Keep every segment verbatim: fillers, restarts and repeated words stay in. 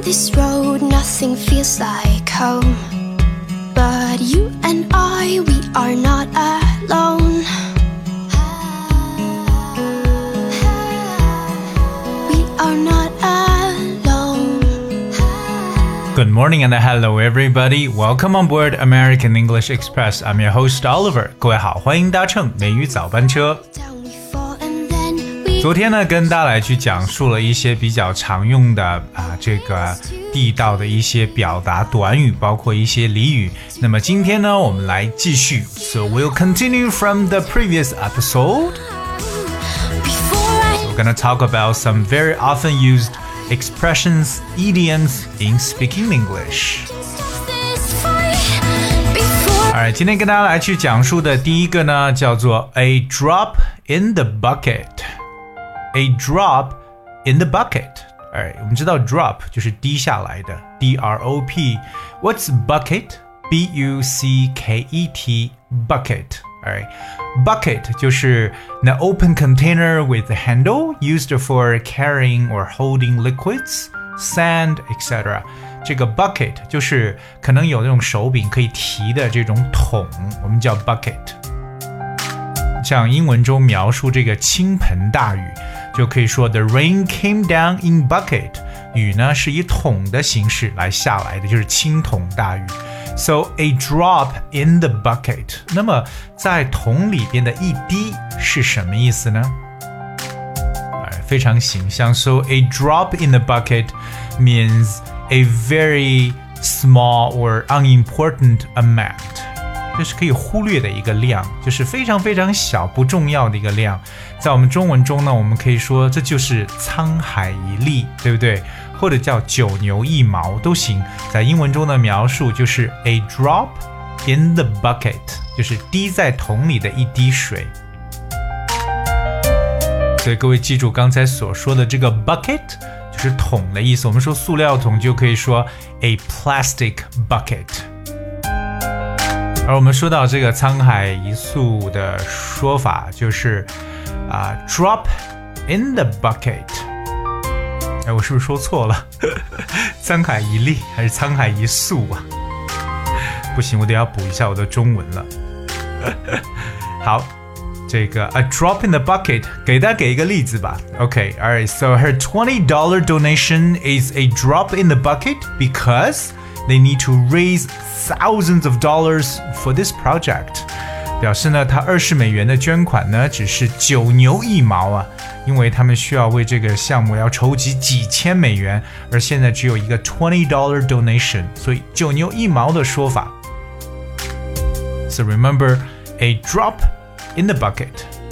this road, nothing feels like home. But you and I, we are not alone. We are not alone. Good morning and hello everybody. Welcome on board American English Express. I'm your host Oliver. 各位好，欢迎搭乘美语早班车。昨天呢，跟大家来去讲述了一些比较常用的啊，这个地道的一些表达短语，包括一些俚语。那么今天呢，我们来继续。So we'll continue from the previous episode. So we're gonna talk about some very often used expressions, idioms in speaking English. Alright, 今天跟大家来去讲述的第一个呢，叫做 a drop in the bucket.A drop in the bucket. Alright, 我们知道 drop 就是滴下来的 D R O P. What's bucket? B U C K E T. Bucket. Alright, bucket 就是 an open container with a handle used for carrying or holding liquids, sand, et cetera. 这个 bucket 就是可能有那种手柄可以提的这种桶，我们叫 bucket. 像英文中描述这个倾盆大雨就可以说 The rain came down in bucket. 雨呢是以桶的形式来下来的，就是倾桶大雨。So a drop in the bucket. 那么在桶里边的一滴是什么意思呢？非常形象。So a drop in the bucket means a very small or unimportant amount.就是可以忽略的一个量，就是非常非常小不重要的一个量。在我们中文中呢，我们可以说这就是沧海一粟，对不对？或者叫九牛一毛都行。在英文中的描述就是 a drop in the bucket， 就是滴在桶里的一滴水。所以各位记住刚才所说的这个 bucket 就是桶的意思。我们说塑料桶就可以说 a plastic bucket。而我们说到这个沧海一粟的说法，就是啊、uh, ，drop in the bucket。哎，我是不是说错了？沧海一粟还是沧海一粟啊？不行，我得要补一下我的中文了。好，这个 a drop in the bucket， 给大家给一个例子吧。Okay, all right. So her twenty dollar donation is a drop in the bucket because they need to raise thousands of dollars for this project. 表示呢，他二十美元的捐款呢，只是九牛一毛啊，因为他们需要为这个项目要筹集几千美元，而现在只有一个 twenty dollar donation， 所以九牛一毛的说法。So remember, a drop in the bucket.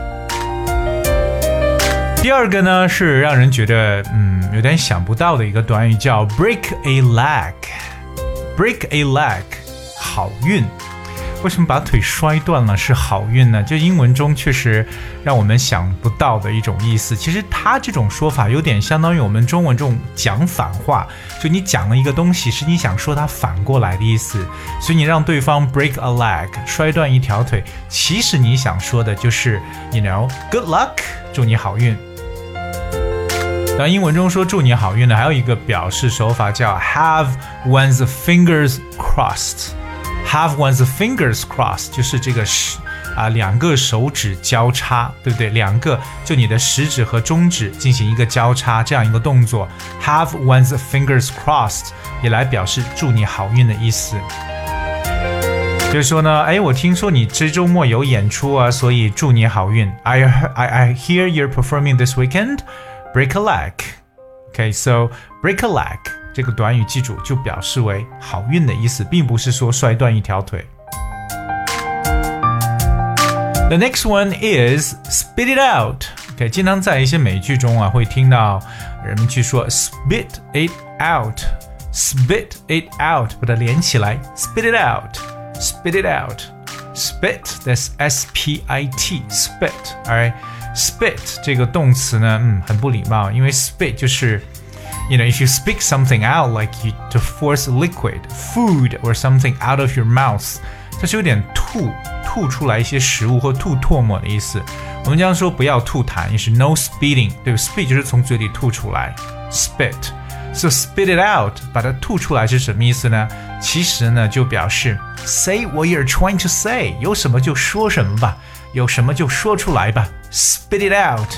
第二个呢，是让人觉得嗯有点想不到的一个短语，叫 break a leg。Break a leg， 好运。为什么把腿摔断了是好运呢？就英文中确实让我们想不到的一种意思。其实它这种说法有点相当于我们中文这种讲反话，就你讲了一个东西，是你想说它反过来的意思。所以你让对方 break a leg， 摔断一条腿，其实你想说的就是 you know good luck， 祝你好运。当英文中说祝你好运的还有一个表示手法叫 have one's fingers crossed. Have one's fingers crossed 就是这个啊两个手指交叉，对不对？两个就你的食指和中指进行一个交叉，这样一个动作 have one's fingers crossed 也来表示祝你好运的意思。就是说呢，哎，我听说你这周末有演出啊，所以祝你好运。I I I hear you're performing this weekend.Break a leg. Okay, so break a leg 这个短语记住就表示为好运的意思，并不是说摔断一条腿。The next one is spit it out. Okay, 经常在一些美剧中啊会听到人们去说 spit it out, spit it out， 把它连起来 spit it out, spit it out, spit, that's S P I T, spit, alright.Spit 这个动词呢，嗯，很不礼貌，因为 spit 就是，you know, if you spit something out, like you to force liquid, food or something out of your mouth， 它是有点吐吐出来一些食物或吐唾沫的意思。我们经常说不要吐痰，也是 no spitting， 对 ，spit 就是从嘴里吐出来 ，spit。 So spit it out， 把它吐出来是什么意思呢？其实呢，就表示 say what you're trying to say， 有什么就说什么吧，有什么就说出来吧 ，spit it out。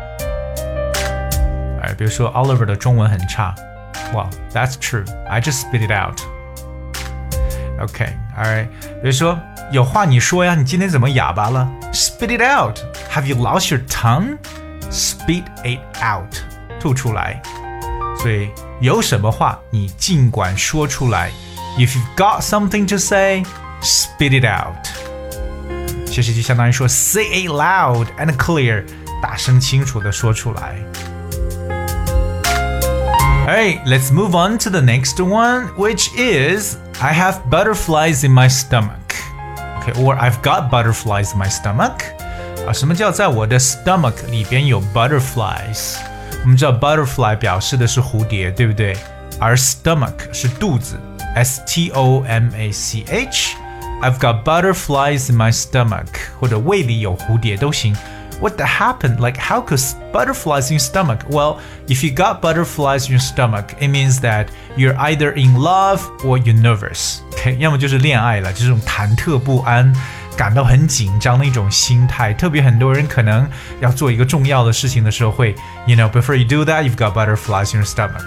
哎，比如说 Oliver 的中文很差 ，Well, that's true. I just spit it out. Okay, alright. 比如说有话你说呀，你今天怎么哑巴了 ？Spit it out. Have you lost your tongue? Spit it out. 吐出来。所以有什么话你尽管说出来。If you've got something to say, spit it out. 其实就相当于说 say it loud and clear. 大声清楚地说出来。Alright, let's move on to the next one, which is I have butterflies in my stomach. Okay, or I've got butterflies in my stomach. 啊，什么叫在我的 stomach 里边有 butterflies？ 我们知道 butterfly 表示的是蝴蝶，对不对？而 stomach 是肚子 ，S T O M A C H。I've got butterflies in my stomach， 或者胃里有蝴蝶都行。What the happened? Like, how could butterflies in your stomach? Well, if you got butterflies in your stomach, it means that you're either in love or you're nervous. Okay, 要么就是恋爱了，这种忐忑不安，感到很紧张的一种心态。特别很多人可能要做一个重要的事情的时候会 ，you know, before you do that, you've got butterflies in your stomach.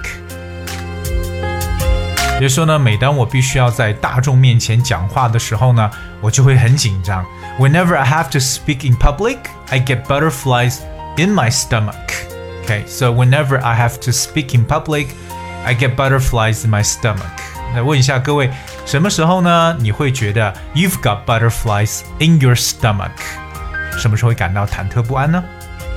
比如说呢，每当我必须要在大众面前讲话的时候呢，我就会很紧张。Whenever I have to speak in public, I get butterflies in my stomach. Okay, so whenever I have to speak in public, I get butterflies in my stomach. 那问一下各位，什么时候呢？你会觉得 you've got butterflies in your stomach？ 什么时候会感到忐忑不安呢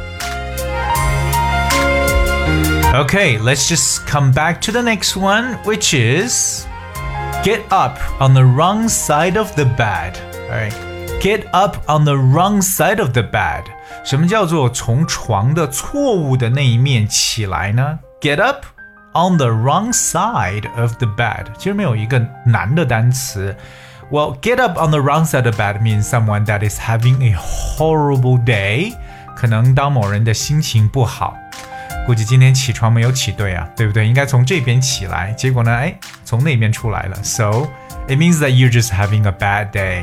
？Okay, let's just come back to the next one, which is get up on the wrong side of the bed. Alright, get up on the wrong side of the bed. 什么叫做从床的错误的那一面起来呢？ Get up on the wrong side of the bed. 其实没有一个难的单词。Well, get up on the wrong side of the bed means someone that is having a horrible day. 可能当某人的心情不好。估计今天起床没有起对啊，对不对？应该从这边起来，结果呢，哎，从那边出来了。So it means that you're just having a bad day.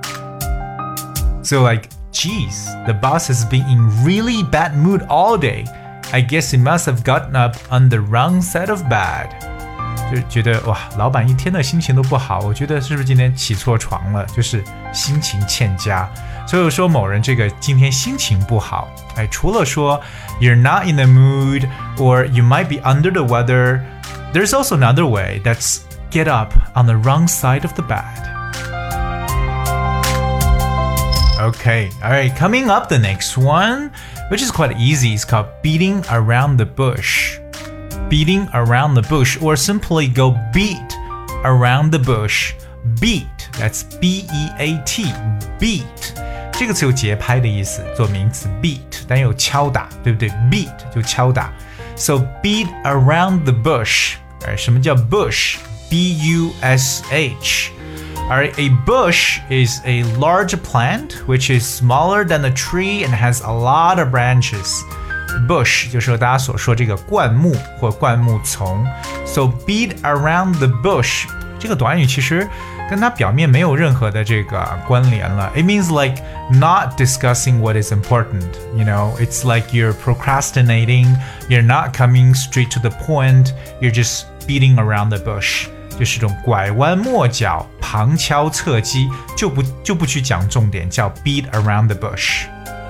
So like, geez, the boss has been in really bad mood all day. I guess he must have gotten up on the wrong side of bed. 就觉得哇，老板一天的心情都不好，我觉得是不是今天起错床了？就是心情欠佳。所以说某人这个今天心情不好，哎，除了说 you're not in the mood or you might be under the weather, there's also another way. That's get up on the wrong side of the bed. Okay, all right, coming up the next one, which is quite easy. It's called beating around the bush. Beating around the bush, or simply go beat around the bush. Beat, that's B E A T, beat. 这个词有节拍的意思，做名词 beat， 但有敲打，对不对 ？beat 就敲打。So beat around the bush. 而什么叫 bush? B U S H. Alright, a bush is a large plant which is smaller than a tree and has a lot of branches. Bush 就是大家所说这个灌木或灌木丛。So beat around the bush 这个短语其实跟它表面没有任何的这个关联了。It means like not discussing what is important. You know, it's like you're procrastinating. You're not coming straight to the point. You're just beating around the bush. 就是这种拐弯抹角、旁敲侧击，就不就不去讲重点，叫 beat around the bush。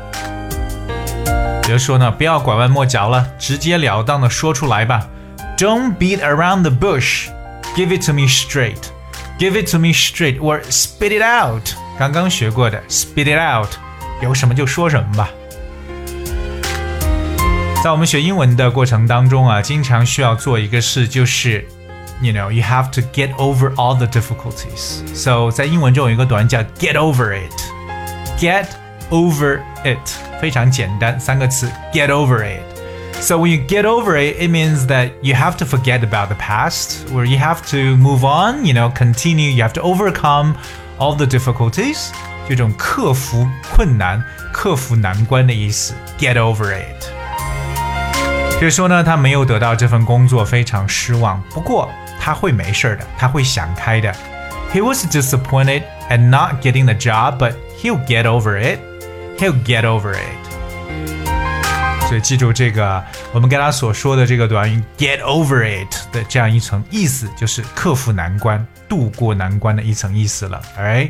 比如说呢，不要拐弯抹角了，直截了当的说出来吧。Don't beat around the bush. Give it to me straight. Give it to me straight, or spit it out. 刚刚学过的 spit it out， 有什么就说什么吧。在我们学英文的过程当中啊，经常需要做一个事，就是You know, you have to get over all the difficulties. So 在英文中有一个短语叫 get over it. Get over it. 非常简单，三个词 get over it. So when you get over it, it means that you have to forget about the past, or you have to move on, you know, continue. You have to overcome all the difficulties. 这种克服困难、克服难关的意思 get over it. 所以说呢，他没有得到这份工作，非常失望。不过他会没事的，他会想开的。He was disappointed at not getting the job, but he'll get over it. He'll get over it. 所以记住这个，我们跟他所说的这个短语 "get over it" 的这样一层意思，就是克服难关、度过难关的一层意思了。Alright.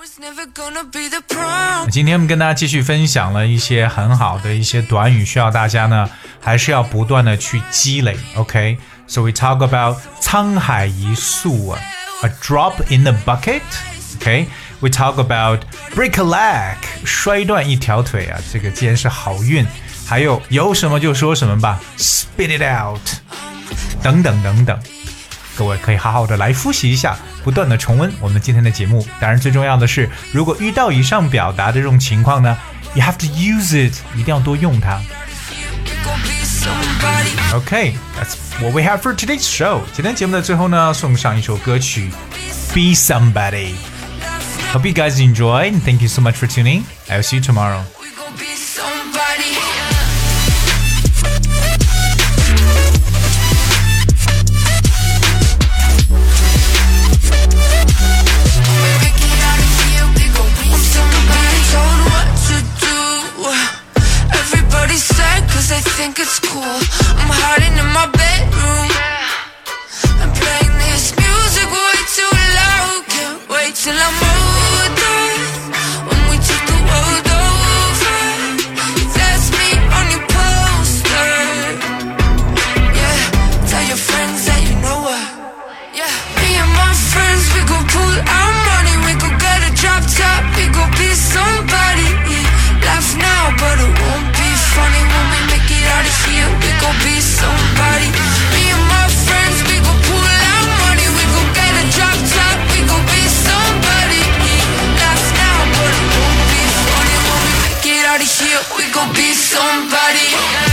今天我们跟大家继续分享了一些很好的一些短语，需要大家呢还是要不断的去积累 OK So we talk about 沧海一粟啊 A drop in the bucket OK We talk about break a leg 摔断一条腿啊，这个既然是好运，还有有什么就说什么吧 Spit it out 等等等等，各位可以好好的来复习一下，不断的重温我们今天的节目。当然最重要的是，如果遇到以上表达的这种情况呢 You have to use it 一定要多用它。 Okay, that's what we have for today's show. 今天节目的最后呢，送上一首歌曲 Be Somebody. Hope you guys enjoy and thank you so much for tuning. I'll see you tomorrow. I think it's cool. I'm hiding in my bedroom. I'm playing this music way too loud. Can't wait till I'm older. When we take the world over. That's me on your poster. Yeah, tell your friends that you know her. Yeah, me and my friends, we go pull our money. We go get a drop top. We go be somebody. Laugh now, but it won't be funny when we make it out of here. We gon' be somebody. Me and my friends, we gon' pull out money. We gon' get a drop top. We gon' be somebody. Laugh now, but it won't be funny when we make it out of here. We gon' be somebody.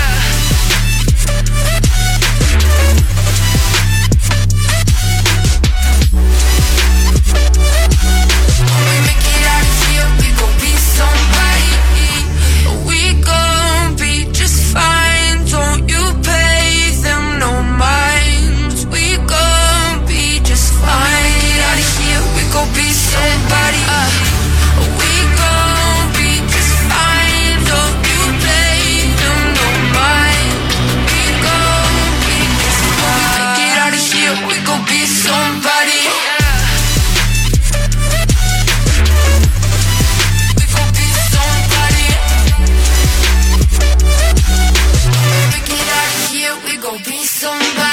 When we make it out of here, we gon' be somebody. We gon' be just fine. Don't you pay them no mind. We gon' be just fine. Get out of here, we gon' be somebody. uh, We gon' be just fine. Don't you pay them no mind. We gon' be just fine. Get out of here, we gon' be somebody. We gon' be somebody. We get out of here, we gon' be somebody.